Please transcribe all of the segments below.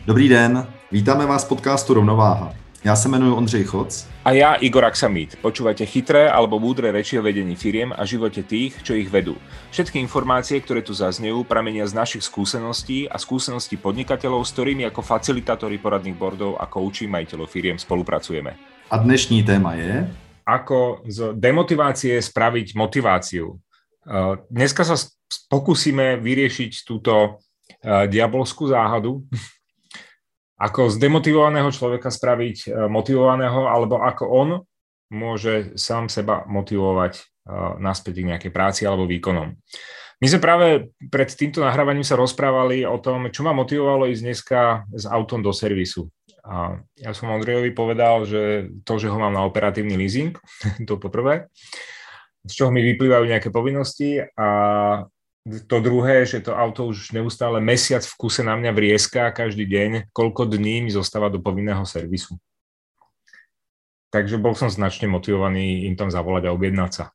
Dobrý den, vítáme vás v podcastu Rovnováha. Ja sa jmenuji Ondřej Choc. A ja Igor Aksamit. Počúvate chytré alebo múdre reči o vedení firiem a živote tých, čo ich vedú. Všetky informácie, ktoré tu zaznejú, pramenia z našich skúseností a skúseností podnikateľov, s ktorými ako facilitátori poradných boardov a kouči majiteľov firiem spolupracujeme. A dnešní téma je... Ako z demotivácie spraviť motiváciu. Dneska sa pokúsime vyriešiť túto diabolskú záhadu. Ako z demotivovaného človeka spraviť motivovaného, alebo ako on môže sám seba motivovať naspäť k nejakej práci alebo výkonom. My sme práve pred týmto nahrávaním sa rozprávali o tom, čo ma motivovalo ísť dneska s autom do servisu. A ja som Ondrejovi povedal, že to, že ho mám na operatívny leasing, to poprvé, z čoho mi vyplývajú nejaké povinnosti, a to druhé, že to auto už neustále mesiac v kuse na mňa vrieska každý deň, koľko dní mi zostáva do povinného servisu. Takže bol som značne motivovaný im tam zavolať a objednať sa.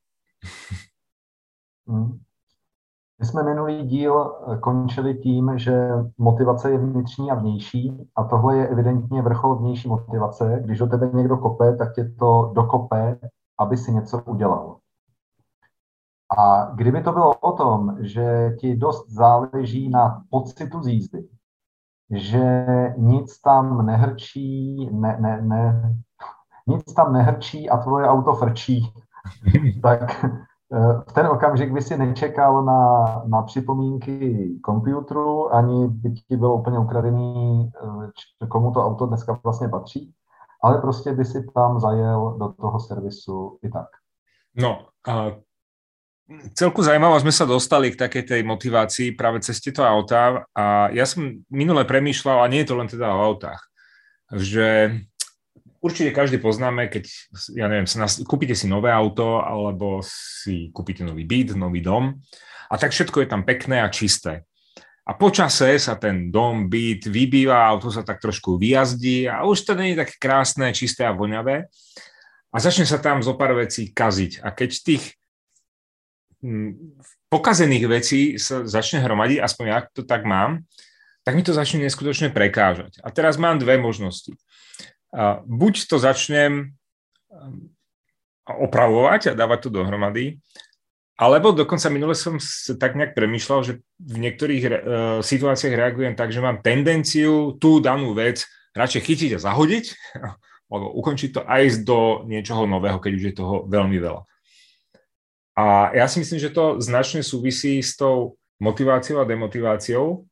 My jsme minulý díl končili tím, že motivace je vnitřní a vnější, a tohle je evidentně vrchol vnější motivace. Když do tebe někdo kope, tak tě to dokope, aby si něco udělal. A kdyby to bylo o tom, že ti dost záleží na pocitu z jízdy, že nic tam nehrčí, nic tam nehrčí a tvoje auto frčí, tak v ten okamžik by si nečekal na připomínky počítačů, ani by ti bylo úplně ukradený, komu to auto dneska vlastně patří, ale prostě by si tam zajel do toho servisu i tak. No, celku zaujímavo sme sa dostali k takej tej motivácii práve cez tieto autá, a ja som minule premýšľal, a nie je to len teda o autách, že určite každý poznáme, keď, ja neviem, kúpite si nové auto alebo si kúpite nový byt, nový dom, a tak všetko je tam pekné a čisté. A po čase sa ten dom, byt vybýva, auto sa tak trošku vyjazdí a už to nie je také krásne, čisté a voňavé, a začne sa tam zo pár vecí kaziť. A keď tých pokazených vecí sa začne hromadiť, aspoň ja to tak mám, tak mi to začne neskutočne prekážať. A teraz mám dve možnosti. Buď to začnem opravovať a dávať to dohromady, alebo dokonca minule som tak nejak premýšľal, že v niektorých situáciách reagujem tak, že mám tendenciu tú danú vec radšej chytiť a zahodiť, alebo ukončiť to a ísť do niečoho nového, keď už je toho veľmi veľa. A ja si myslím, že to značne súvisí s tou motiváciou a demotiváciou,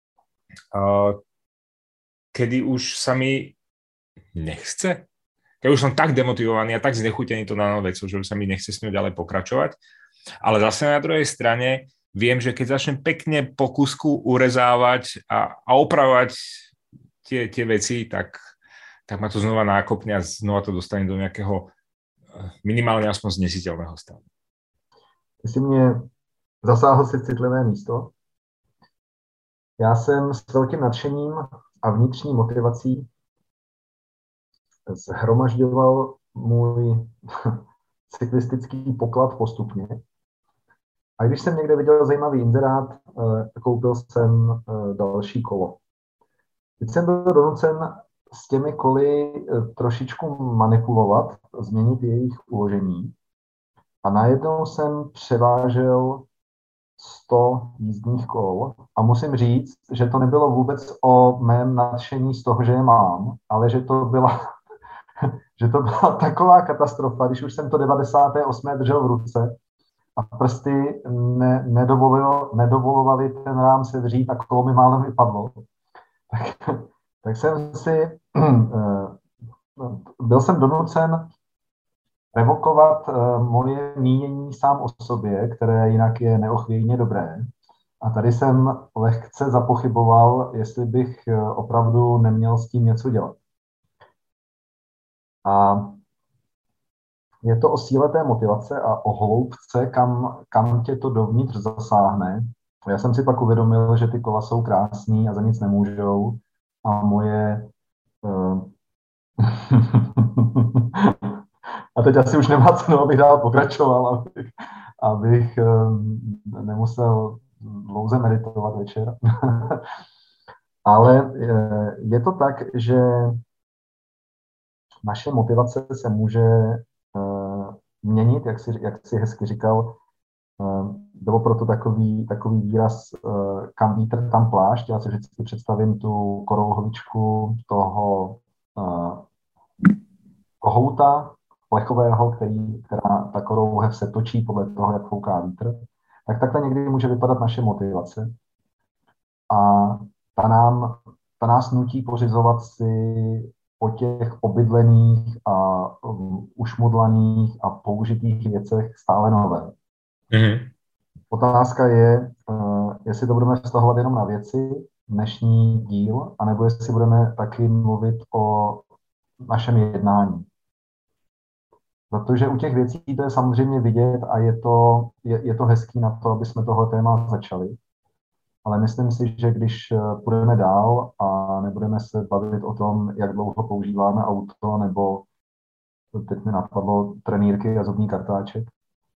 kedy už sa mi nechce. Keď už som tak demotivovaný a tak znechutený to danou vecou, že už sa mi nechce s ňou ďalej pokračovať. Ale zase na druhej strane viem, že keď začnem pekne po kusku urezávať a opravovať tie veci, tak ma to znova nákopne a znova to dostane do nejakého minimálne aspoň znesiteľného stavu. Ty jsi mě zasáhl si citlivé místo. Já jsem s velkým nadšením a vnitřní motivací zhromažďoval můj cyklistický poklad postupně. A když jsem někde viděl zajímavý inzerát, koupil jsem další kolo. Teď jsem byl donucen s těmi koly trošičku manipulovat, změnit jejich uložení. A najednou jsem převážel 100 jízdních kol a musím říct, že to nebylo vůbec o mém nadšení z toho, že je mám, ale že to byla taková katastrofa, když už jsem to 98. držel v ruce a prsty nedovolovaly ten rám sevřít a kolo mi málem vypadlo. Tak jsem byl jsem donucen revokovat moje mínění sám o sobě, které jinak je neochvějně dobré. A tady jsem lehce zapochyboval, jestli bych opravdu neměl s tím něco dělat. A je to o síle té motivace a o hloubce, kam tě to dovnitř zasáhne. Já jsem si pak uvědomil, že ty kola jsou krásný a za nic nemůžou. A moje... A teď asi už nemá cenu, abych dál pokračoval, abych nemusel dlouze meditovat večer. Ale je to tak, že naše motivace se může měnit, jak jsi hezky říkal. Bylo proto takový výraz kam vítr, tam plášť. Já si vždycky představím tu korouhvičku toho kohouta plechového, která ta korouhev se točí podle toho, jak fouká vítr. Tak takhle někdy může vypadat naše motivace. A ta nás nutí pořizovat si o těch obydlených a ušmudlaných a použitých věcech stále nové. Mm-hmm. Otázka je, jestli to budeme vztahovat jenom na věci, dnešní díl, anebo jestli budeme taky mluvit o našem jednání. Protože u těch věcí to je samozřejmě vidět a je to hezký na to, aby jsme tohle téma začali. Ale myslím si, že když půjdeme dál a nebudeme se bavit o tom, jak dlouho používáme auto, nebo teď mi napadlo trenýrky a zubní kartáček,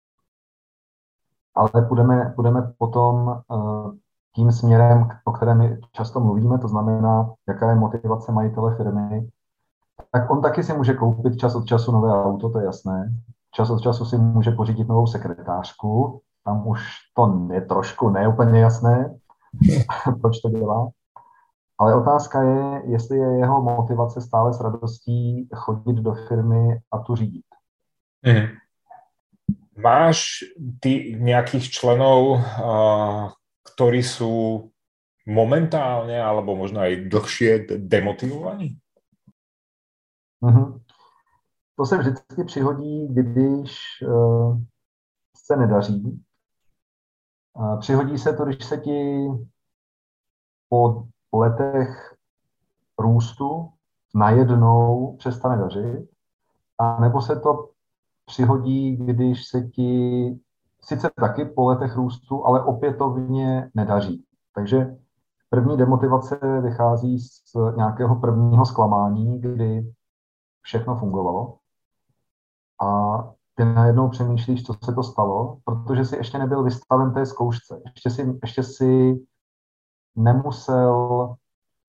ale půjdeme potom tím směrem, o kterém my často mluvíme, to znamená, jaká je motivace majitele firmy, tak on taky si může koupit čas od času nové auto, to je jasné. Čas od času si může pořídit novou sekretářku, tam už to je trošku neúplně jasné, proč to dělá. Ale otázka je, jestli je jeho motivace stále s radostí chodit do firmy a tu řídit. Mm. Máš ty nejakých členov, ktorí sú momentálne alebo možno aj dlhšie demotivovaní? Mm-hmm. To se vždycky přihodí, když se nedaří. Přihodí se to, když se ti po letech růstu najednou přestane dařit, a nebo se to přihodí, když se ti sice taky po letech růstu, ale opětovně nedaří. Takže první demotivace vychází z nějakého prvního zklamání, kdy všechno fungovalo a ty najednou přemýšlíš, co se to stalo, protože jsi ještě nebyl vystaven té zkoušce. Ještě si nemusel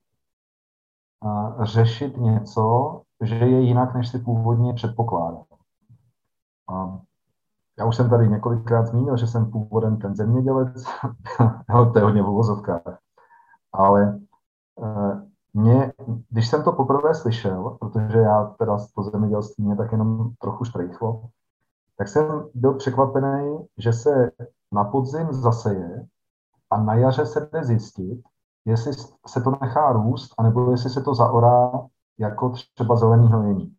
řešit něco, že je jinak, než si původně předpokládal. Já už jsem tady několikrát zmínil, že jsem původem ten zemědělec, to je hodně v uvozovkách, ale když jsem to poprvé slyšel, protože já teda to zemědělství mě tak jenom trochu štrejchlo, tak jsem byl překvapený, že se na podzim zaseje a na jaře se jde zjistit, jestli se to nechá růst, anebo jestli se to zaorá jako třeba zelený hnojení.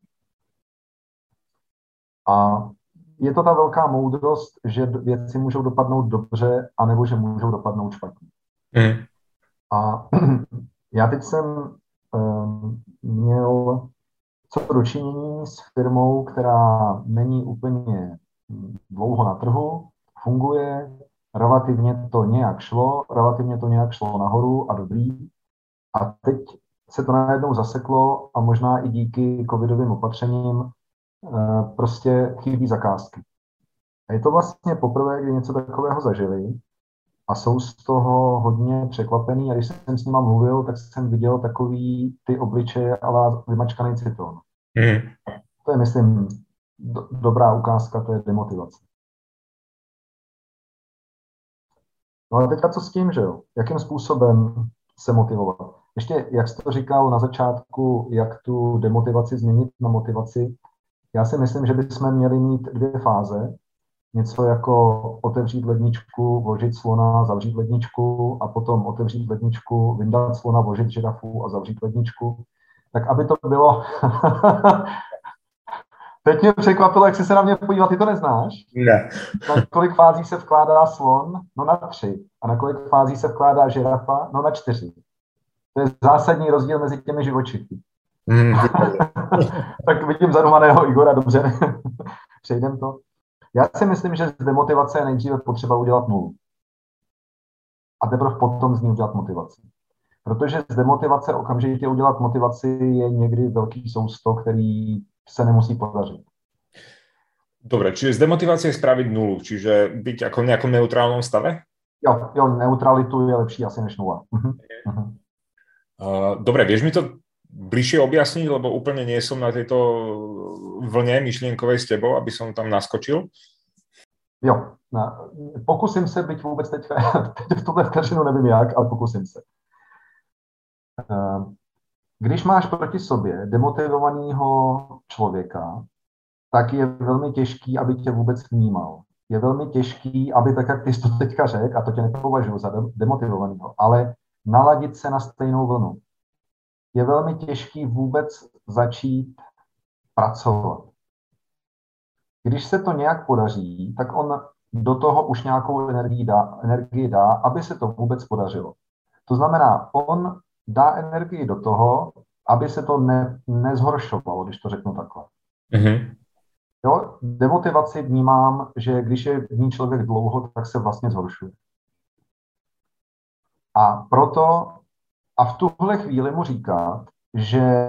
A je to ta velká moudrost, že věci můžou dopadnout dobře, anebo že můžou dopadnout špatně. Mm. A já teď jsem měl co dočinění s firmou, která není úplně dlouho na trhu, funguje, relativně to nějak šlo nahoru a dobrý. A teď se to najednou zaseklo a možná i díky covidovým opatřením prostě chybí zakázky. A je to vlastně poprvé, kdy něco takového zažili a jsou z toho hodně překvapený. A když jsem s nima mluvil, tak jsem viděl takový ty obličeje ale vymačkaný citrón. Mm. To je, myslím, dobrá ukázka, to je demotivace. No a teďka co s tím, že jo? Jakým způsobem se motivovat? Ještě, jak jsi to říkal na začátku, jak tu demotivaci změnit na motivaci, já si myslím, že bychom měli mít 2 fáze. Něco jako otevřít ledničku, vložit slona, zavřít ledničku a potom otevřít ledničku, vyndat slona, vložit žirafu a zavřít ledničku. Tak aby to bylo... Teď mě překvapilo, jak jsi se na mě podíval, ty to neznáš? Ne. Na kolik fází se vkládá slon? No na 3. A na kolik fází se vkládá žirafa? No na 4. To je zásadní rozdíl mezi těmi živočichy. Tak vidím zadumaného Igora, dobře. Přejdem to. Já si myslím, že z demotivace je nejdříve potřeba udělat nulu. A teprve potom z ní udělat motivaci. Protože z demotivace okamžitě udělat motivaci je někdy velký sousto, který se nemusí podařit. Dobre, čiže z demotivácie spraviť nulu, čiže byť ako v nejakom neutrálnom stave? Jo, neutralitu je lepší asi než nula. Dobre, vieš mi to bližšie objasniť, lebo úplne nie som na tejto vlne myšlienkovej s tebou, aby som tam naskočil? Jo, pokusím se, byť vůbec teď v tuhle vteřinu nevím jak, ale pokusím se. Když máš proti sobě demotivovaného člověka, tak je velmi těžký, aby tě vůbec vnímal. Je velmi těžký, aby tak, jak ty jsi to teďka řekl, a to tě nepovažuji za demotivovaného, ale naladit se na stejnou vlnu. Je velmi těžký vůbec začít pracovat. Když se to nějak podaří, tak on do toho už nějakou energii dá, aby se to vůbec podařilo. To znamená, on dá energii do toho, aby se to nezhoršovalo, když to řeknu takhle. Mm-hmm. Jo, demotivaci vnímám, že když je v ní člověk dlouho, tak se vlastně zhoršuje. A proto a v tuhle chvíli mu říkat, že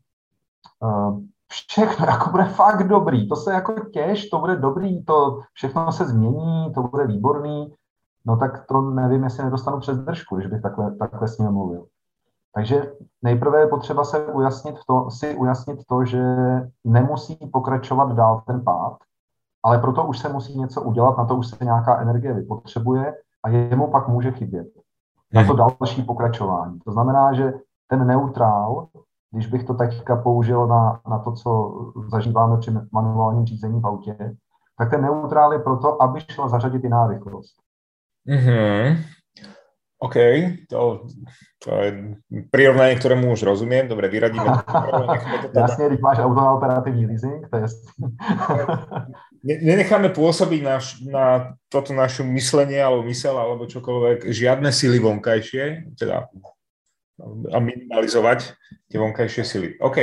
všechno jako bude fakt dobrý, to se jako těž, to bude dobrý, to všechno se změní, to bude výborný, no tak to nevím, jestli nedostanu přes držku, když bych takhle s ním mluvil. Takže nejprve je potřeba si ujasnit to, že nemusí pokračovat dál ten pád, ale proto už se musí něco udělat, na to už se nějaká energie vypotřebuje a jemu pak může chybět na to další pokračování. To znamená, že ten neutrál, když bych to teďka použil na to, co zažíváme při manuálním řízení v autě, tak ten neutrál je proto, aby šla zařadit jiná rychlost. Mm-hmm. OK, to je prirovnanie, ktorému už rozumiem. Dobre, vyradíme to. Jasne, když máš auto na operatívny leasing, to je jasný. Nenecháme pôsobiť na toto našu myslenie alebo mysel alebo čokoľvek, žiadne sily vonkajšie, teda a minimalizovať tie vonkajšie sily. OK.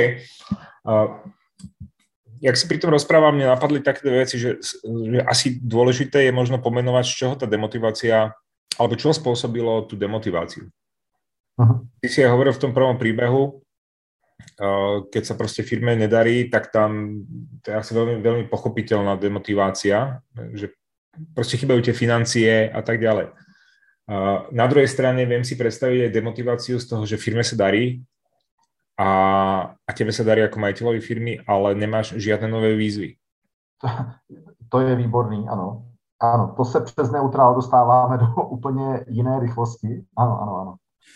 Jak si pri tom rozprávam, mne napadli také veci, že asi dôležité je možno pomenovať, z čoho tá demotivácia alebo čo spôsobilo tú demotiváciu. Ty si aj hovoril v tom prvom príbehu, keď sa proste firme nedarí, tak tam to je asi veľmi, veľmi pochopiteľná demotivácia, že proste chýbajú tie financie a tak ďalej. Na druhej strane viem si predstaviť aj demotiváciu z toho, že firme sa darí a tebe sa darí ako majiteľovi firmy, ale nemáš žiadne nové výzvy. To je výborný, ano. Ano, to se přes neutrál dostáváme do úplně jiné rychlosti. Ano.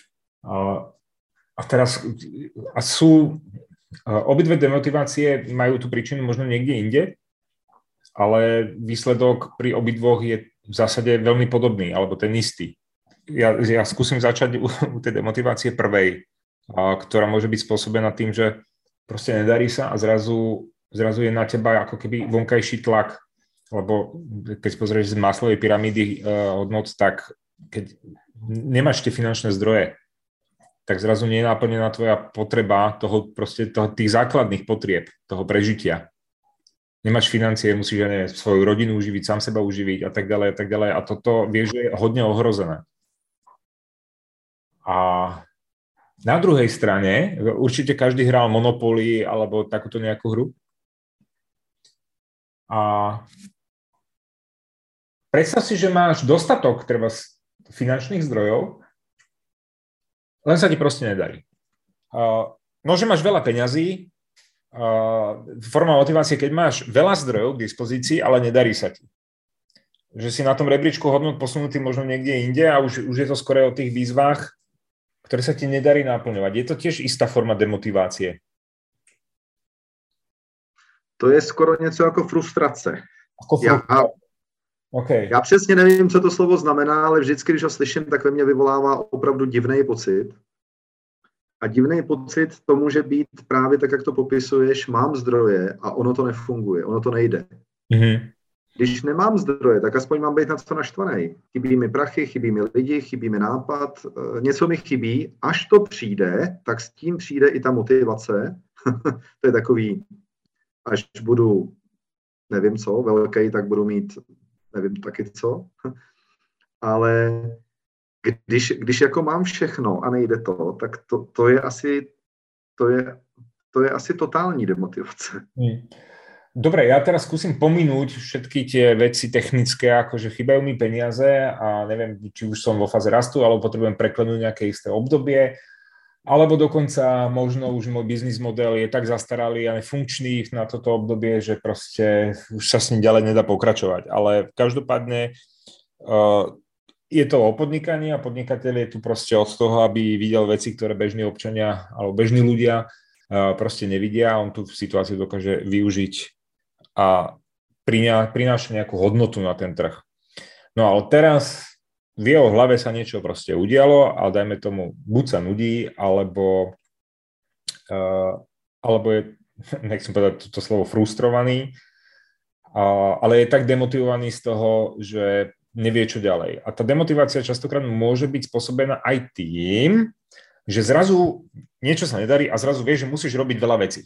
A teraz sú obidve demotivácie majú tú príčinu možno niekde inde, ale výsledok pri obidvoch je v zásade veľmi podobný, alebo ten istý. Ja skúsim začať u tej demotivácie prvej, ktorá môže byť spôsobená tým, že proste nedarí sa a zrazu je na teba ako keby vonkajší tlak. Lebo keď pozrieš z Maslowovej pyramídy hodnot, tak keď nemáš tie finančné zdroje, tak zrazu nie je naplnená tvoja potreba tých základných potrieb, toho prežitia. Nemáš financie, musíš svoju rodinu uživiť, sám seba uživiť a tak ďalej a tak ďalej. A toto vieš, že je hodne ohrozené. A na druhej strane, určite každý hral Monopoly alebo takúto nejakú hru. A predstav si, že máš dostatok treba finančných zdrojov, len sa ti proste nedarí. No, že máš veľa peňazí, forma motivácie, keď máš veľa zdrojov k dispozícii, ale nedarí sa ti. Že si na tom rebríčku hodnot posunutý možno niekde inde a už je to skoro o tých výzvách, ktoré sa ti nedarí naplňovať. Je to tiež istá forma demotivácie. To je skoro něco jako frustrace. Okay. Já přesně nevím, co to slovo znamená, ale vždycky, když ho slyším, tak ve mně vyvolává opravdu divný pocit. A divný pocit to může být právě tak, jak to popisuješ, mám zdroje a ono to nefunguje, ono to nejde. Mm-hmm. Když nemám zdroje, tak aspoň mám být na to naštvaný. Chybí mi prachy, chybí mi lidi, chybí mi nápad, něco mi chybí. Až to přijde, tak s tím přijde i ta motivace. To je takový, až budu, nevím co, velký, tak budu mít nevím taky co, ale když jako mám všechno a nejde to, tak to je asi totální demotivace. Dobre, ja teraz skúsim pominúť všetky tie veci technické, akože chýbajú mi peniaze a neviem, či už som vo fáze rastu, alebo potrebujem preklenúť nejaké isté obdobie alebo dokonca možno už môj biznis model je tak zastaralý a nefunkčný na toto obdobie, že proste už sa s ním ďalej nedá pokračovať. Ale každopádne je to o podnikaní a podnikateľ je tu proste od toho, aby videl veci, ktoré bežní občania alebo bežní ľudia proste nevidia. On tú situáciu dokáže využiť a prináša nejakú hodnotu na ten trh. No ale teraz v jeho hlave sa niečo proste udialo, ale dajme tomu, buď sa nudí, alebo je, nechcem povedať toto slovo, frustrovaný, ale je tak demotivovaný z toho, že nevie, čo ďalej. A tá demotivácia častokrát môže byť spôsobená aj tým, že zrazu niečo sa nedarí a zrazu vieš, že musíš robiť veľa vecí.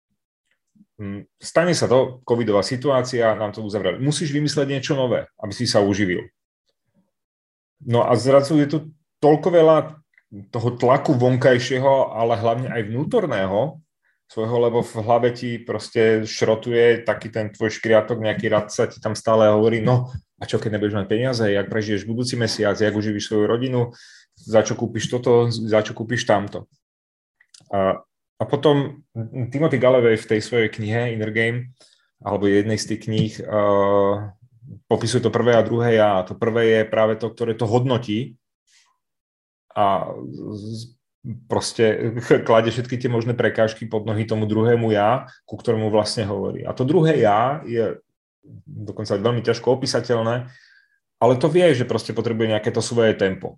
Stane sa to, covidová situácia, nám to uzavreli. Musíš vymysleť niečo nové, aby si sa uživil. No a zrazu je tu toľko veľa toho tlaku vonkajšieho, ale hlavne aj vnútorného svojho, lebo v hlave ti proste šrotuje taký ten tvoj škriatok, nejaký radca ti tam stále hovorí, no a čo keď nebudeš mať peniaze, jak prežiješ budúci mesiac, jak uživíš svoju rodinu, za čo kúpiš toto, za čo kúpiš tamto. A potom Timothy Gallwey v tej svojej knihe Inner Game, alebo jednej z tých kníh, popisuje to prvé a druhé ja. To prvé je práve to, ktoré to hodnotí a proste kladie všetky tie možné prekážky pod nohy tomu druhému ja, ku ktorému vlastne hovorí. A to druhé ja je dokonca veľmi ťažko opísateľné, ale to vie, že proste potrebuje nejaké to svoje tempo.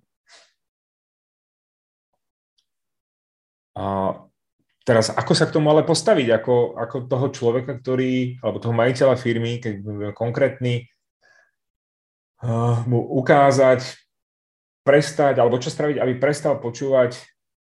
A teraz, ako sa k tomu ale postaviť? Ako toho človeka, alebo toho majiteľa firmy, keď budeme konkrétny, mu ukázať, prestať, alebo čo spraviť, aby prestal počúvať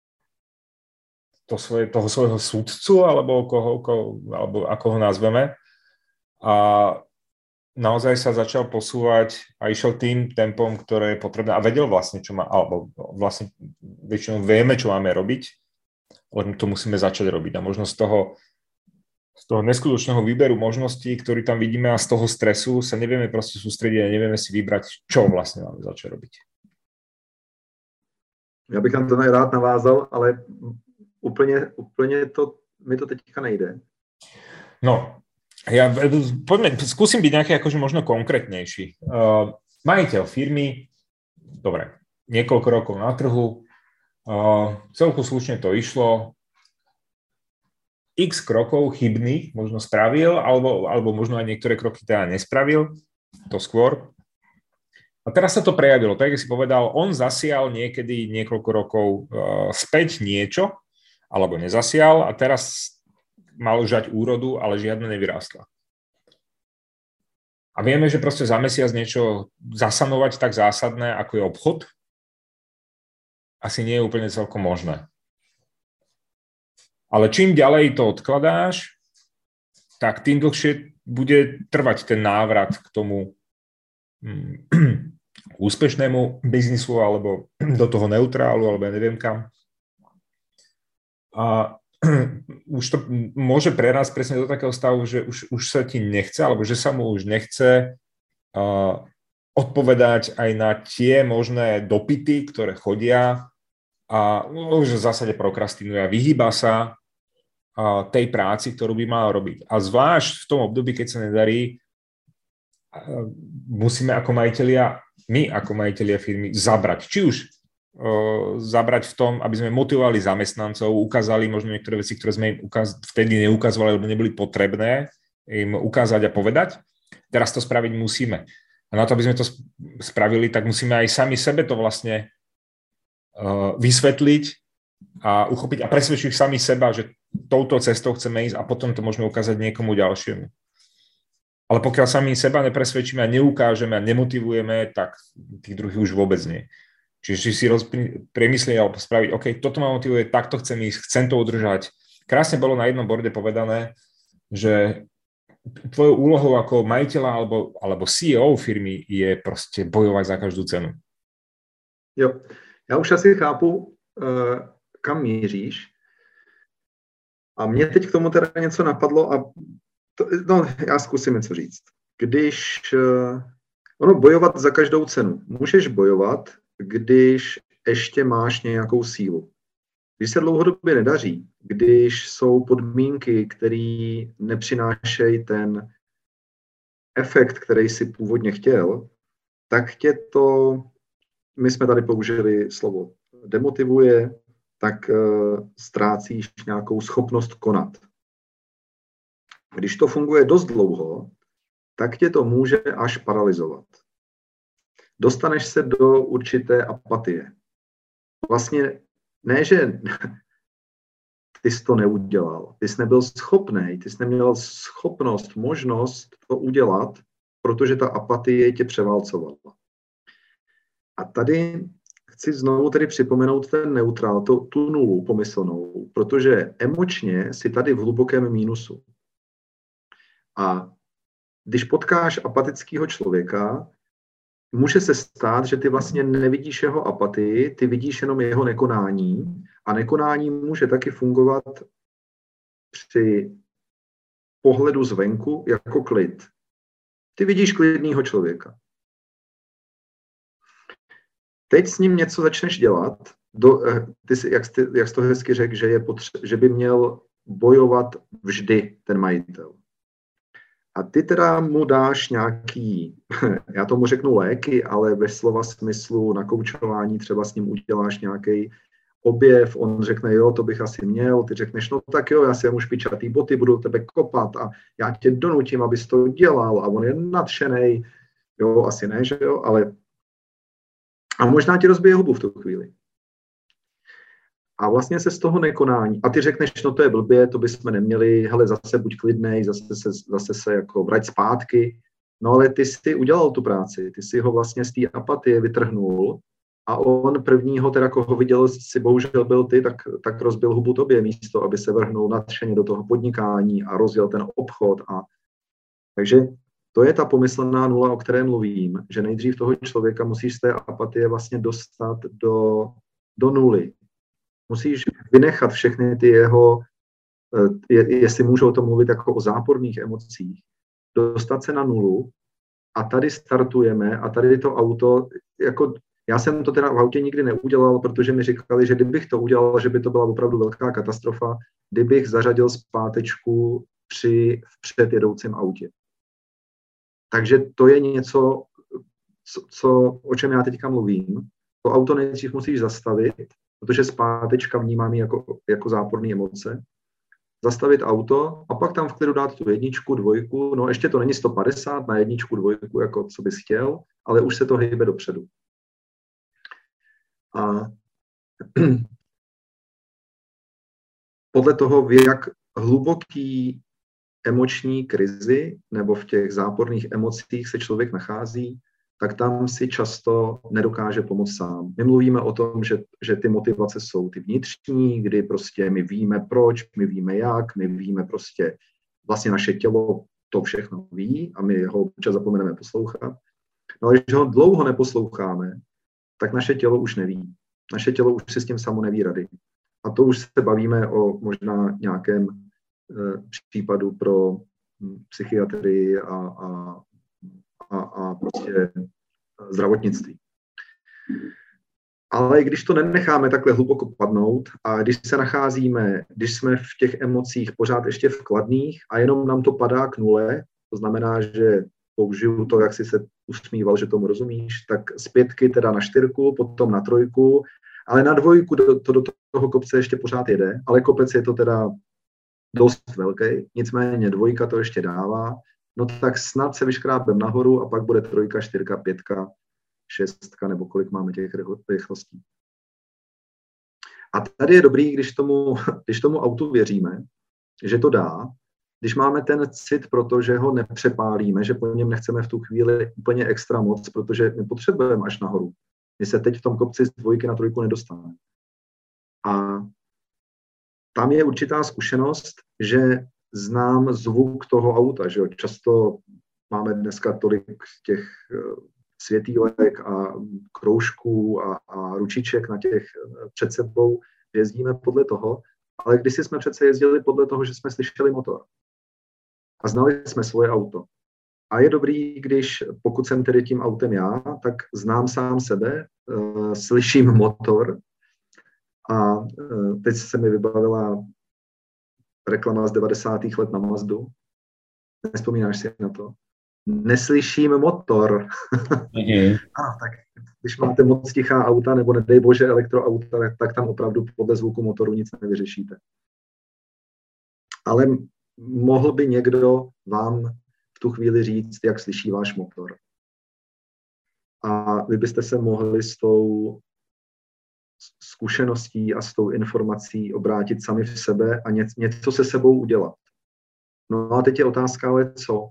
toho svojho sudcu, alebo ako ho nazveme. A naozaj sa začal posúvať a išiel tým tempom, ktoré je potrebné. A vedel vlastne, čo má, alebo vlastne väčšinou vieme, čo máme robiť, len to musíme začať robiť. A možno z toho neskutočného výberu možností, ktorý tam vidíme a z toho stresu sa nevieme proste sústrediť a nevieme si vybrať, čo vlastne máme začať robiť. Já bych na to rád navázal, ale úplně mi to teďka nejde. No, poďme, skúsim byť nejaký akože možno konkrétnejší. Majiteľ firmy, dobre, niekoľko rokov na trhu, celku slušne to išlo, x krokov chybných možno spravil, alebo možno aj niektoré kroky teda nespravil, to skôr. A teraz sa to prejavilo, tak jak si povedal, on zasial niekedy niekoľko rokov späť niečo, alebo nezasial a teraz mal žať úrodu, ale žiadne nevyrástla. A vieme, že proste za mesiac niečo zasanovať tak zásadné, ako je obchod, asi nie je úplne celkom možné. Ale čím ďalej to odkladáš, tak tým dlhšie bude trvať ten návrat k tomu úspešnému biznisu alebo do toho neutrálu, alebo ja neviem kam. A už to môže prerásť presne do takého stavu, že už sa ti nechce, alebo že sa mu už nechce odpovedať aj na tie možné dopyty, ktoré chodia a už v zásade prokrastinuje a vyhýba sa tej práci, ktorú by mal robiť. A zvlášť v tom období, keď sa nedarí, musíme my ako majitelia firmy zabrať. Či už zabrať v tom, aby sme motivovali zamestnancov, ukázali možno niektoré veci, ktoré sme im vtedy neukazovali, lebo neboli potrebné im ukázať a povedať. Teraz to spraviť musíme. A na to, aby sme to spravili, tak musíme aj sami sebe to vlastne vysvetliť a uchopiť a presvedčiť sami seba, že touto cestou chceme ísť a potom to môžeme ukázať niekomu ďalšiemu. Ale pokiaľ sami seba nepresvedčíme a neukážeme a nemotivujeme, tak tých druhých už vôbec nie. Čiže si premyslieť alebo spraviť, OK, toto ma motivuje, takto chcem ísť, chcem to udržať. Krásne bolo na jednom borde povedané, že tvojou úlohou ako majiteľa alebo CEO firmy je proste bojovať za každú cenu. Jo, já už asi chápu, kam míříš. A mě teď k tomu teda něco napadlo a já zkusím něco říct. Když bojovat za každou cenu. Můžeš bojovat, když ještě máš nějakou sílu. Když se dlouhodobě nedaří, když jsou podmínky, které nepřinášejí ten efekt, který si původně chtěl, tak tě to, my jsme tady použili slovo demotivuje, tak ztrácíš nějakou schopnost konat. Když to funguje dost dlouho, tak tě to může až paralyzovat. Dostaneš se do určité apatie. Vlastně ne, že ty jsi to neudělal, ty jsi nebyl schopný, ty jsi neměl schopnost, možnost to udělat, protože ta apatie tě převálcovala. A tady chci znovu tedy připomenout ten neutrál, tu nulu pomyslnou, protože emočně jsi tady v hlubokém mínusu. A když potkáš apatického člověka, může se stát, že ty vlastně nevidíš jeho apatii, ty vidíš jenom jeho nekonání a nekonání může taky fungovat při pohledu zvenku jako klid. Ty vidíš klidného člověka. Teď s ním něco začneš dělat, jak jsi to hezky řekl, že by měl bojovat vždy ten majitel. A ty teda mu dáš nějaký, já tomu řeknu léky, ale ve slova smyslu na koučování třeba s ním uděláš nějaký objev, on řekne, jo, to bych asi měl, ty řekneš, no tak jo, já si vemu špičatý boty, budu tebe kopat a já tě donutím, abys to dělal a on je nadšenej, jo, asi ne, že jo, ale a možná ti rozbije hubu v tu chvíli. A vlastně se z toho nekonání, a ty řekneš, no to je blbě, to bychom neměli, hele, zase buď klidnej, zase se jako vrať zpátky, no ale ty jsi udělal tu práci, ty jsi ho vlastně z té apatie vytrhnul a on prvního, teda koho viděl, si bohužel byl ty, tak rozbil hubu tobě místo, aby se vrhnul nadšeně do toho podnikání a rozjel ten obchod. Takže to je ta pomyslná nula, o které mluvím, že nejdřív toho člověka musíš z té apatie vlastně dostat do nuly. Musíš vynechat všechny ty jeho, jestli můžu o tom mluvit jako o záporných emocích, dostat se na nulu a tady startujeme a tady to auto, jako já jsem to teda v autě nikdy neudělal, protože mi říkali, že kdybych to udělal, že by to byla opravdu velká katastrofa, kdybych zařadil zpátečku při vpředjedoucím autě. Takže to je něco, o čem já teďka mluvím. To auto nejdřív musíš zastavit, protože zpátečka vnímám jako záporné emoce. Zastavit auto a pak tam v klidu dát tu 1, 2, no ještě to není 150 na 1, 2, jako co bys chtěl, ale už se to hýbe dopředu. A podle toho, v jak hluboký emoční krizi nebo v těch záporných emocích se člověk nachází, tak tam si často nedokáže pomoct sám. My mluvíme o tom, že ty motivace jsou ty vnitřní, kdy prostě my víme proč, my víme jak, my víme prostě, vlastně naše tělo to všechno ví a my ho občas zapomeneme poslouchat. No ale když ho dlouho neposloucháme, tak naše tělo už neví. Naše tělo už si s tím samo neví rady. A to už se bavíme o možná nějakém případu pro psychiatrii a prostě zdravotnictví. Ale když to nenecháme takhle hluboko padnout a když jsme v těch emocích pořád ještě v kladných a jenom nám to padá k nule, to znamená, že použiju to, jak jsi se usmíval, že tomu rozumíš, tak z 5 teda na 4, potom na 3, ale na 2 do toho kopce ještě pořád jede, ale kopec je to teda dost velký, nicméně 2 to ještě dává, no tak snad se vyškrábem nahoru a pak bude 3, 4, 5, 6 nebo kolik máme těch rychlostí. A tady je dobrý, když tomu autu věříme, že to dá, když máme ten cit, protože ho nepřepálíme, že po něm nechceme v tu chvíli úplně extra moc, protože my potřebujeme až nahoru. My se teď v tom kopci z 2 na 3 nedostaneme. A tam je určitá zkušenost, že znám zvuk toho auta, že jo? Často máme dneska tolik těch světýlek a kroužků a ručiček na těch před sebou, že jezdíme podle toho, ale kdysi jsme přece jezdili podle toho, že jsme slyšeli motor a znali jsme svoje auto. A je dobrý, pokud jsem tedy tím autem já, tak znám sám sebe, slyším motor A teď se mi vybavila reklama z 90. let na Mazdu. Nespomínáš si na to? Neslyším motor. Tak když máte moc tichá auta, nebo nedej bože elektroauta, tak tam opravdu podle zvuku motoru nic nevyřešíte. Ale mohl by někdo vám v tu chvíli říct, jak slyší váš motor. A vy byste se mohli s tou zkušeností a s tou informací obrátit sami v sebe a něco se sebou udělat. No a teď je otázka, ale co?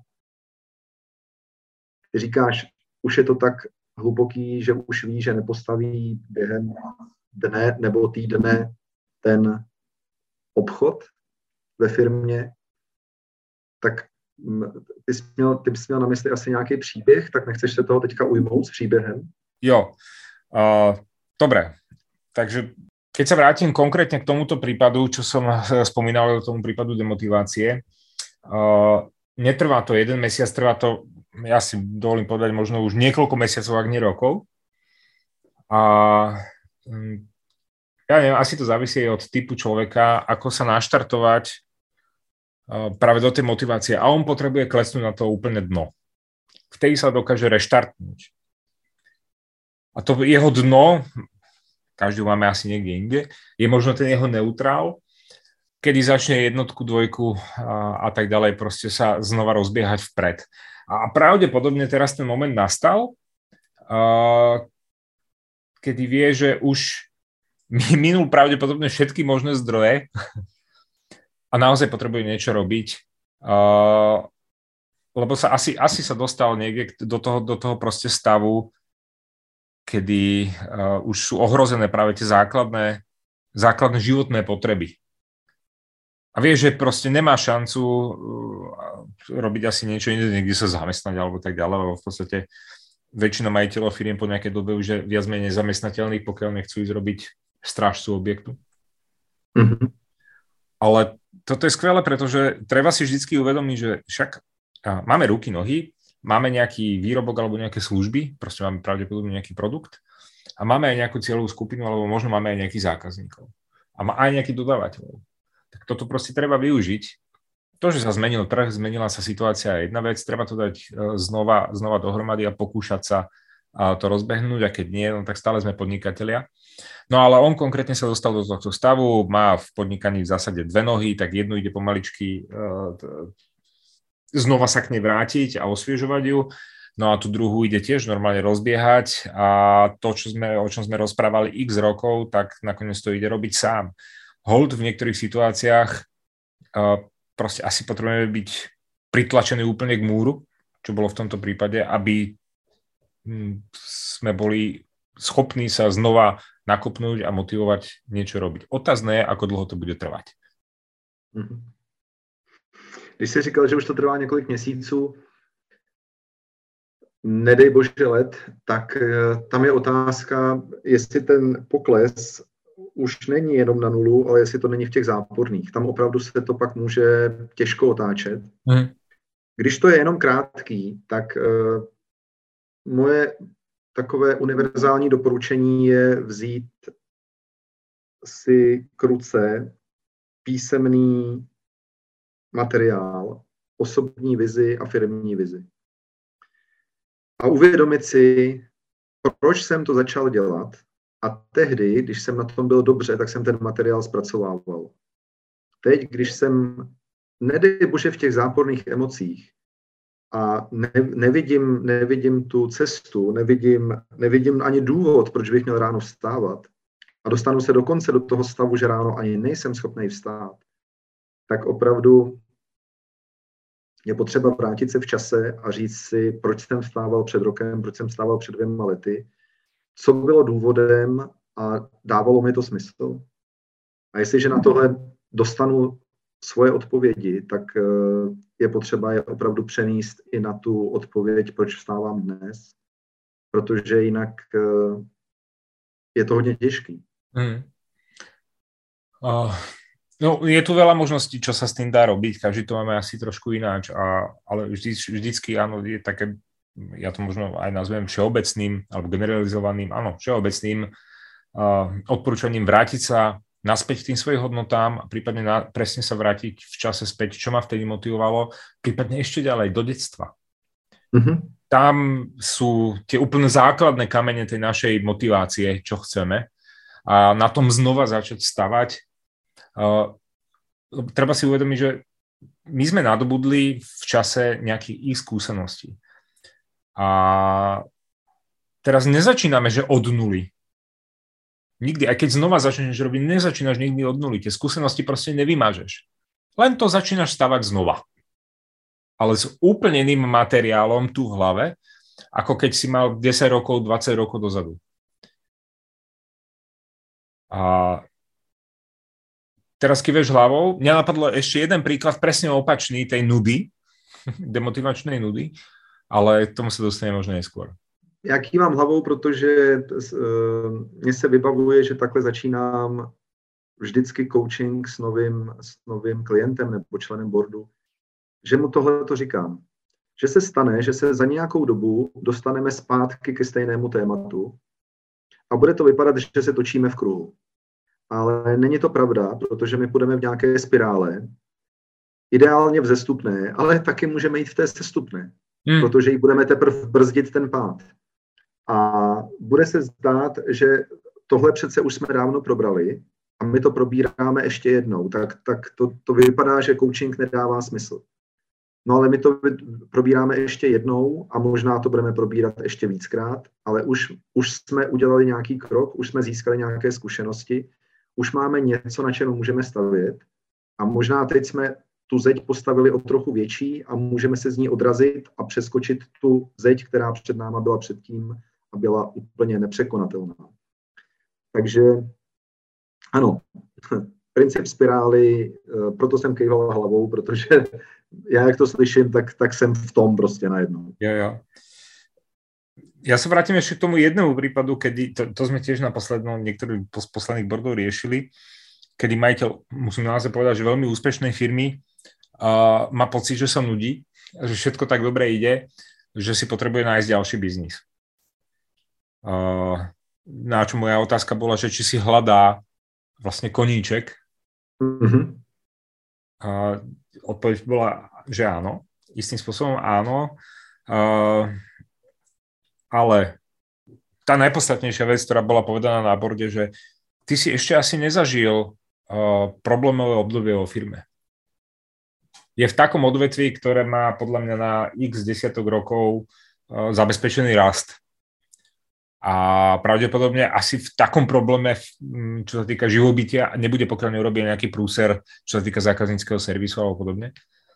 Ty říkáš, už je to tak hluboký, že už ví, že nepostaví během dne nebo týdne ten obchod ve firmě, tak ty bys měl na mysli asi nějaký příběh, tak nechceš se toho teďka ujmout s příběhem? Jo, dobre. Takže keď sa vrátim konkrétne k tomuto prípadu, čo som spomínal, k tomu prípadu demotivácie, netrvá to 1 mesiac, trvá to, ja si dovolím povedať, možno už niekoľko mesiacov, ak nie rokov. A ja neviem, asi to závisí od typu človeka, ako sa naštartovať práve do tej motivácie. A on potrebuje klesnúť na to úplne dno. Vtedy sa dokáže reštartnúť. A to jeho dno, každý máme asi niekde inde, je možno ten jeho neutrál, kedy začne 1, 2 a tak ďalej proste sa znova rozbiehať vpred. A pravdepodobne teraz ten moment nastal, kedy vie, že už minul pravdepodobne všetky možné zdroje a naozaj potrebuje niečo robiť, lebo sa asi sa dostal niekde do toho proste stavu, kedy už sú ohrozené práve tie základné životné potreby. A vie, že proste nemá šancu robiť asi niečo iné, niekde sa zamestnať alebo tak ďalej, lebo v podstate väčšina majiteľov firiem po nejakej dobe už je viac menej zamestnateľných, pokiaľ nechcú ísť robiť strážcu objektu. Mm-hmm. Ale toto je skvelé, pretože treba si vždycky uvedomiť, že však máme ruky, nohy, máme nejaký výrobok alebo nejaké služby, proste máme pravdepodobne nejaký produkt a máme aj nejakú cieľovú skupinu, alebo možno máme aj nejakých zákazníkov a aj nejakých dodávateľov. Tak toto proste treba využiť. To, že sa zmenil trh, zmenila sa situácia, je jedna vec, treba to dať znova dohromady a pokúšať sa to rozbehnúť, a keď nie, no tak stále sme podnikatelia. No ale on konkrétne sa dostal do tohto stavu, má v podnikaní v zásade 2 nohy, tak jednu ide pomaličky znova sa k nej vrátiť a osviežovať ju, no a tú druhú ide tiež normálne rozbiehať a to, o čom sme rozprávali x rokov, tak nakoniec to ide robiť sám. Hold v niektorých situáciách proste asi potrebujeme byť pritlačení úplne k múru, čo bolo v tomto prípade, aby sme boli schopní sa znova nakopnúť a motivovať niečo robiť. Otázne je, ako dlho to bude trvať. Když jsi říkal, že už to trvá několik měsíců, nedej bože let, tak tam je otázka, jestli ten pokles už není jenom na nulu, ale jestli to není v těch záporných. Tam opravdu se to pak může těžko otáčet. Když to je jenom krátký, tak moje takové univerzální doporučení je vzít si k ruce písemný materiál, osobní vizi a firmní vizi. A uvědomit si, proč jsem to začal dělat. A tehdy, když jsem na tom byl dobře, tak jsem ten materiál zpracovával. Teď, když jsem, nedej bože, v těch záporných emocích a nevidím tu cestu, nevidím ani důvod, proč bych měl ráno vstávat a dostanu se dokonce do toho stavu, že ráno ani nejsem schopný vstát, tak opravdu je potřeba vrátit se v čase a říct si, proč jsem vstával před rokem, proč jsem vstával před 2 lety, co bylo důvodem a dávalo mi to smysl. A jestliže na tohle dostanu svoje odpovědi, tak je potřeba je opravdu přenést i na tu odpověď, proč vstávám dnes, protože jinak je to hodně těžký. No, je tu veľa možností, čo sa s tým dá robiť, každý to máme asi trošku ináč, ale vždycky áno, je také, ja to možno aj nazvem všeobecným alebo generalizovaným, áno, všeobecným odporúčaním vrátiť sa naspäť k tým svojim hodnotám a prípadne presne sa vrátiť v čase späť, čo ma vtedy motivovalo, prípadne ešte ďalej do detstva. Tam sú tie úplne základné kamene tej našej motivácie, čo chceme, a na tom znova začať stavať. Treba si uvedomiť, že my sme nadobudli v čase nejakých ich skúseností. A teraz nezačíname, že od nuly. Nikdy, aj keď znova začneš robiť, nezačínaš nikdy od nuly. Tie skúsenosti proste nevymažeš. Len to začínaš stavať znova. Ale s úplne iným materiálom tu v hlave, ako keď si mal 10 rokov, 20 rokov dozadu. A teraz kýveš hlavou, mňa napadlo ešte jeden príklad presne opačný tej nudy, demotivačnej nudy, ale k tomu sa dostane možno neskôr. Já kývám hlavou, protože mně se vybavuje, že takhle začínám vždycky coaching s novým klientem nebo členem boardu, že mu tohle to říkám. Že se stane, že se za nějakou dobu dostaneme zpátky ke stejnému tématu a bude to vypadat, že se točíme v kruhu. Ale není to pravda, protože my půjdeme v nějaké spirále, ideálně vzestupné, ale taky můžeme jít v té sestupné, protože jí budeme teprve brzdit ten pád. A bude se zdát, že tohle přece už jsme dávno probrali a my to probíráme ještě jednou, tak to vypadá, že coaching nedává smysl. No ale my to probíráme ještě jednou a možná to budeme probírat ještě víckrát, ale už jsme udělali nějaký krok, už jsme získali nějaké zkušenosti, už máme něco, na čem můžeme stavět a možná teď jsme tu zeď postavili o trochu větší a můžeme se z ní odrazit a přeskočit tu zeď, která před náma byla předtím a byla úplně nepřekonatelná. Takže ano, princip spirály, proto jsem kejval hlavou, protože já, jak to slyším, tak jsem v tom prostě najednou. Jo. Ja sa vrátim ešte k tomu jednému prípadu, kedy, to sme tiež na niektorých posledných boardov riešili, kedy majiteľ, musím naozaj povedať, že veľmi úspešnej firmy má pocit, že sa nudí, že všetko tak dobre ide, že si potrebuje nájsť ďalší biznis. Na čo moja otázka bola, že či si hľadá vlastne koníček. Odpoveď bola, že áno. Istým spôsobom áno. Ale tá najpodstatnejšia vec, ktorá bola povedaná na borde, že ty si ešte asi nezažil problémové obdobie vo firme. Je v takom odvetví, ktoré má podľa mňa na x desiatok rokov zabezpečený rast. A pravdepodobne asi v takom probléme, čo sa týka živobytia, nebude, pokiaľ neurobí nejaký prúser, čo sa týka zákazníckeho servisu alebo podobne.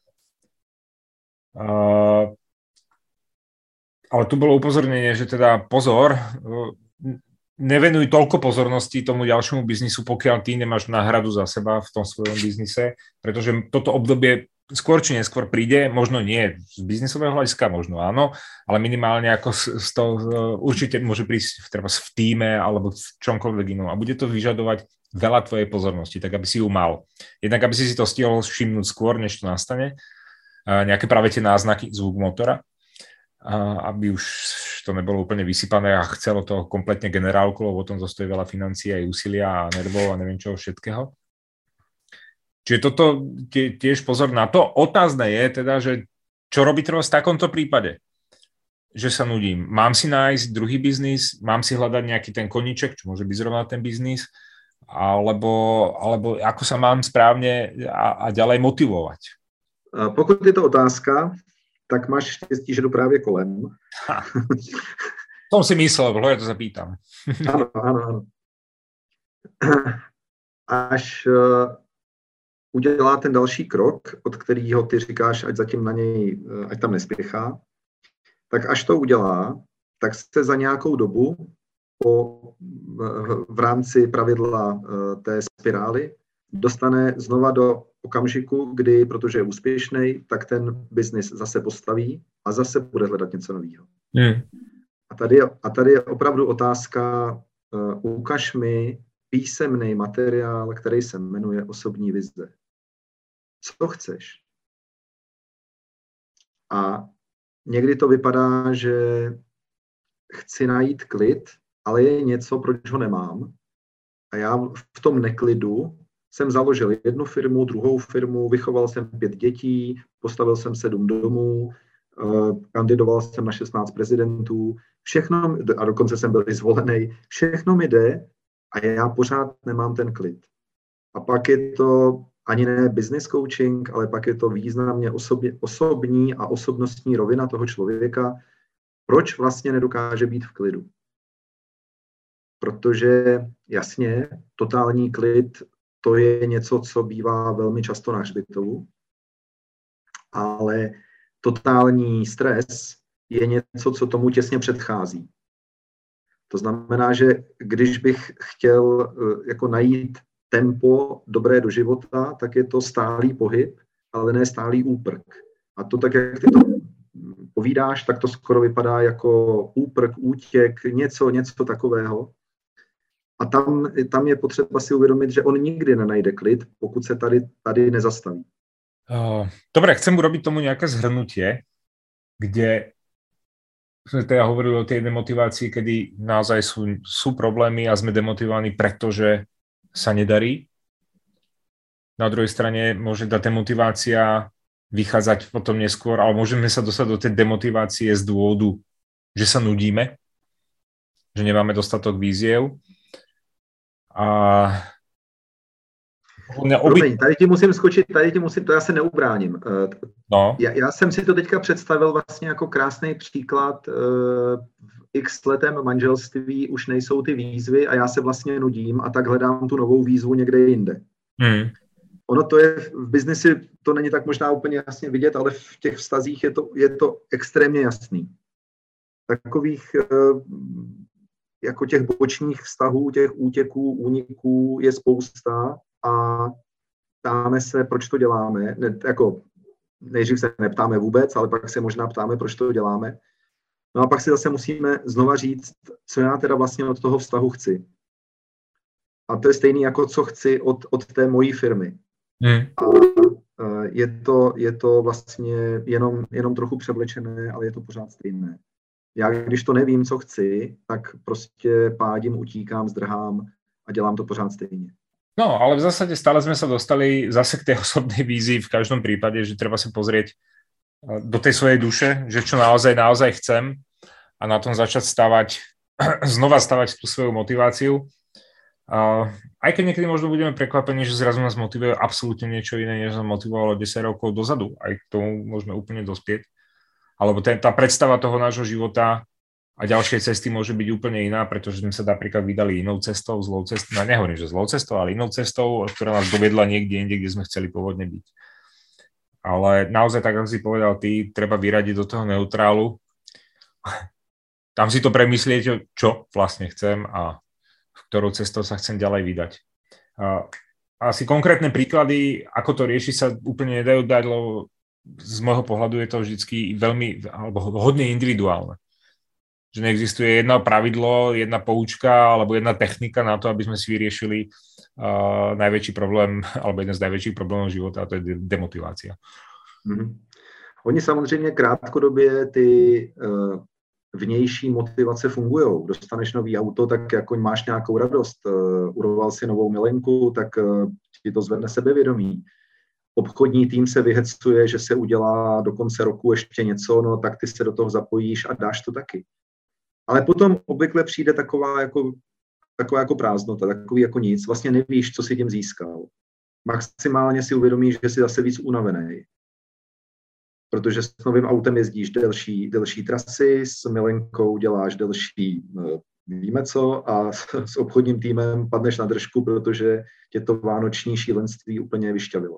Ale tu bolo upozornenie, že teda pozor, nevenuj toľko pozornosti tomu ďalšiemu biznisu, pokiaľ ty nemáš náhradu za seba v tom svojom biznise, pretože toto obdobie skôr či neskôr príde, možno nie z biznisového hľadiska, možno áno, ale minimálne ako určite môže prísť v tíme alebo v čomkoľvek inom a bude to vyžadovať veľa tvojej pozornosti, tak aby si ju mal. Jednak aby si to stihol všimnúť skôr, než to nastane, nejaké práve tie náznaky, zvuk motora, aby už to nebolo úplne vysypané a chcelo to kompletne generálku, lebo o tom zostojí veľa financií aj úsilia a nervov a neviem čoho všetkého. Čiže toto tiež pozor na to. Otázne je teda, že čo robiť v takomto prípade? Že sa nudím. Mám si nájsť druhý biznis, mám si hľadať nejaký ten koníček, čo môže byť zrovna ten biznis, alebo ako sa mám správne a ďalej motivovať? Pokud je to otázka, tak máš štěstí, že jdu právě kolem. Tom si myslel, ja to zapýtam. Ano. Až udělá ten další krok, od kterého ty říkáš, ať zatím na něj, ať tam nespěchá, tak až to udělá, tak se za nějakou dobu v rámci pravidla té spirály dostane znova do okamžiku, kdy, protože je úspěšný, tak ten biznis zase postaví a zase bude hledat něco nového. A tady je opravdu otázka, ukaž mi písemný materiál, který se jmenuje osobní vize. Co chceš? A někdy to vypadá, že chci najít klid, ale je něco, proč ho nemám. A já v tom neklidu jsem založil jednu firmu, druhou firmu, vychoval jsem 5 dětí, postavil jsem 7 domů, kandidoval jsem na 16 prezidentů, všechno, a dokonce jsem byl i zvolený, všechno mi jde a já pořád nemám ten klid. A pak je to ani ne business coaching, ale pak je to významně osobní a osobnostní rovina toho člověka, proč vlastně nedokáže být v klidu. Protože jasně, totální klid, to je něco, co bývá velmi často na hřbitovu, ale totální stres je něco, co tomu těsně předchází. To znamená, že když bych chtěl jako najít tempo dobré do života, tak je to stálý pohyb, ale ne stálý úprk. A to tak, jak ty to povídáš, tak to skoro vypadá jako úprk, útěk, něco takového. A tam je potřeba si uvědomit, že on nikdy nenajde klid, pokud se tady nezastaví. Dobre, chcem urobiť tomu nejaké zhrnutie, kde sme teda hovorili o tej demotivácii, kedy naozaj sú problémy a sme demotivovaní, pretože sa nedarí. Na druhej strane môže tá demotivácia vychádzať potom neskôr, ale môžeme sa dostať do tej demotivácie z dôvodu, že sa nudíme, že nemáme dostatok víziev. A Promiň, tady ti musím skočit, to já se neubráním. No. Já jsem si to teďka představil vlastně jako krásný příklad. V x letém manželství už nejsou ty výzvy a já se vlastně nudím a tak hledám tu novou výzvu někde jinde. Ono to je v biznisi, to není tak možná úplně jasně vidět, ale v těch vztazích je to extrémně jasný. Takových jako těch bočních vztahů, těch útěků, úniků je spousta a ptáme se, proč to děláme. Nejdřív se neptáme vůbec, ale pak se možná ptáme, proč to děláme. No a pak si zase musíme znova říct, co já teda vlastně od toho vztahu chci. A to je stejný jako co chci od té mojí firmy. A je to vlastně jenom trochu převlečené, ale je to pořád stejné. Já když to nevím, co chci, tak prostě pádím, utíkám, zdrhám a dělám to pořád stejně. No, ale v zásade stále sme sa dostali zase k tej osobnej vízii v každom prípade, že treba sa pozrieť do tej svojej duše, že čo naozaj chcem a na tom začať znova stavať tú svoju motiváciu. Aj keď niekedy možno budeme prekvapení, že zrazu nás motivuje absolútne niečo iné, než nás motivovalo 10 rokov dozadu. Aj k tomu môžeme úplne dospieť. Alebo tá predstava toho nášho života a ďalšej cesty môže byť úplne iná, pretože sme sa napríklad vydali inou cestou, zlou cestou, no nehovorím, že zlou cestou, ale inou cestou, ktorá nás dovedla niekde inde, kde sme chceli pôvodne byť. Ale naozaj, tak ako si povedal ty, treba vyradiť do toho neutrálu. Tam si to premyslieť, čo vlastne chcem a v ktorou cestou sa chcem ďalej vydať. Asi konkrétne príklady, ako to riešiť, sa úplne nedajú dať, lebo z môjho pohľadu je to vždycky veľmi, alebo hodne individuálne. Že neexistuje jedno pravidlo, jedna poučka alebo jedna technika na to, aby sme si vyriešili najväčší problém, alebo jeden z najväčších problémov života, a to je demotivácia. Oni samozřejmě krátkodobě ty vnější motivace fungujou. Dostaneš nový auto, tak jako máš nějakou radost. Uroval si novou milenku, tak ti to zvedne sebevědomí. Obchodní tým se vyhecuje, že se udělá do konce roku ještě něco, no tak ty se do toho zapojíš a dáš to taky. Ale potom obvykle přijde taková jako prázdnota, takový jako nic. Vlastně nevíš, co si tím získal. Maximálně si uvědomíš, že jsi zase víc unavený. Protože s novým autem jezdíš delší trasy, s milenkou děláš delší víme co a s obchodním týmem padneš na držku, protože tě to vánoční šílenství úplně vyšťavilo.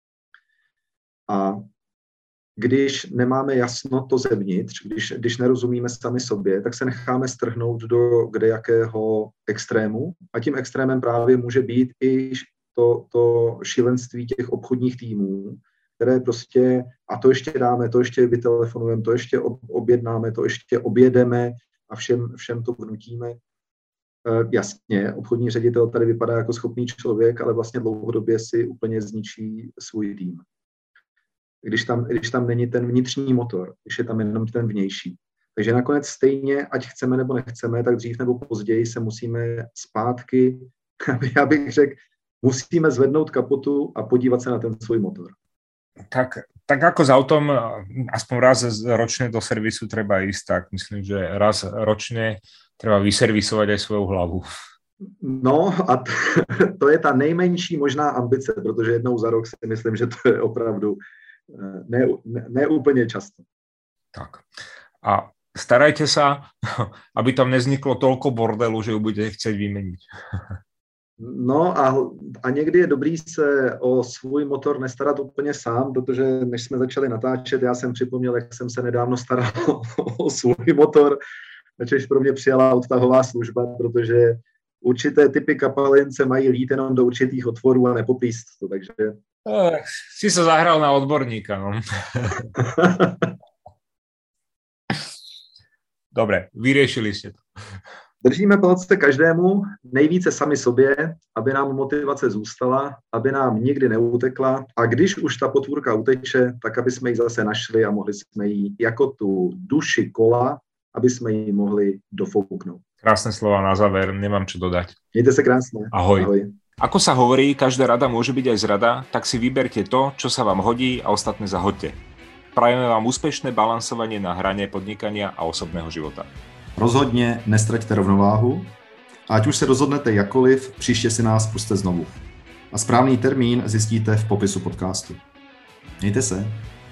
A když nemáme jasno to zevnitř, když nerozumíme sami sobě, tak se necháme strhnout do kdejakého extrému a tím extrémem právě může být i to šílenství těch obchodních týmů, které prostě, a to ještě dáme, to ještě vytelefonujeme, to ještě objednáme, to ještě objedeme a všem to vnutíme. Jasně, obchodní ředitel tady vypadá jako schopný člověk, ale vlastně dlouhodobě si úplně zničí svůj tým. Když tam není ten vnitřní motor, když je tam jenom ten vnější. Takže nakonec stejně, ať chceme nebo nechceme, tak dřív nebo později se musíme zpátky k Já bych řekl, musíme zvednout kapotu a podívat se na ten svůj motor. Tak ako s autom, aspoň raz ročne do servisu treba ísť, tak myslím, že raz ročne treba vyservisovať aj svoju hlavu. No a to je ta nejmenší možná ambice, protože jednou za rok si myslím, že to je opravdu ne úplně často. Tak. A starajte sa, aby tam nezniklo toľko bordelu, že ju budete chcieť vymeniť. No a někdy je dobrý se o svůj motor nestarat úplně sám, protože než jsme začali natáčet, já jsem připomněl, jak jsem se nedávno staral o svůj motor, načež pro mě přijala odtahová služba, protože určité typy kapalin se mají lít jenom do určitých otvorů a nepoplíst to, takže... Si sa zahral na odborníka, no. Dobre, vyriešili ste to. Držíme palce každému, nejvíce sami sobě, aby nám motivace zůstala, aby nám nikdy neutekla a když už ta potvůrka uteče, tak aby jsme ji zase našli a mohli jsme ji jako tu duši kola, aby jsme ji mohli dofouknout. Krásne slova na záver, nemám čo dodať. Mějte se krásne. Ahoj. Ahoj. Ako sa hovorí, každá rada môže byť aj zrada, tak si vyberte to, čo sa vám hodí a ostatné zahoďte. Prajeme vám úspešné balansovanie na hrane podnikania a osobného života. Rozhodně nestraťte rovnováhu a ať už se rozhodnete jakkoliv, příště si nás pusťte znovu. A správný termín zjistíte v popisu podcastu. Mějte se.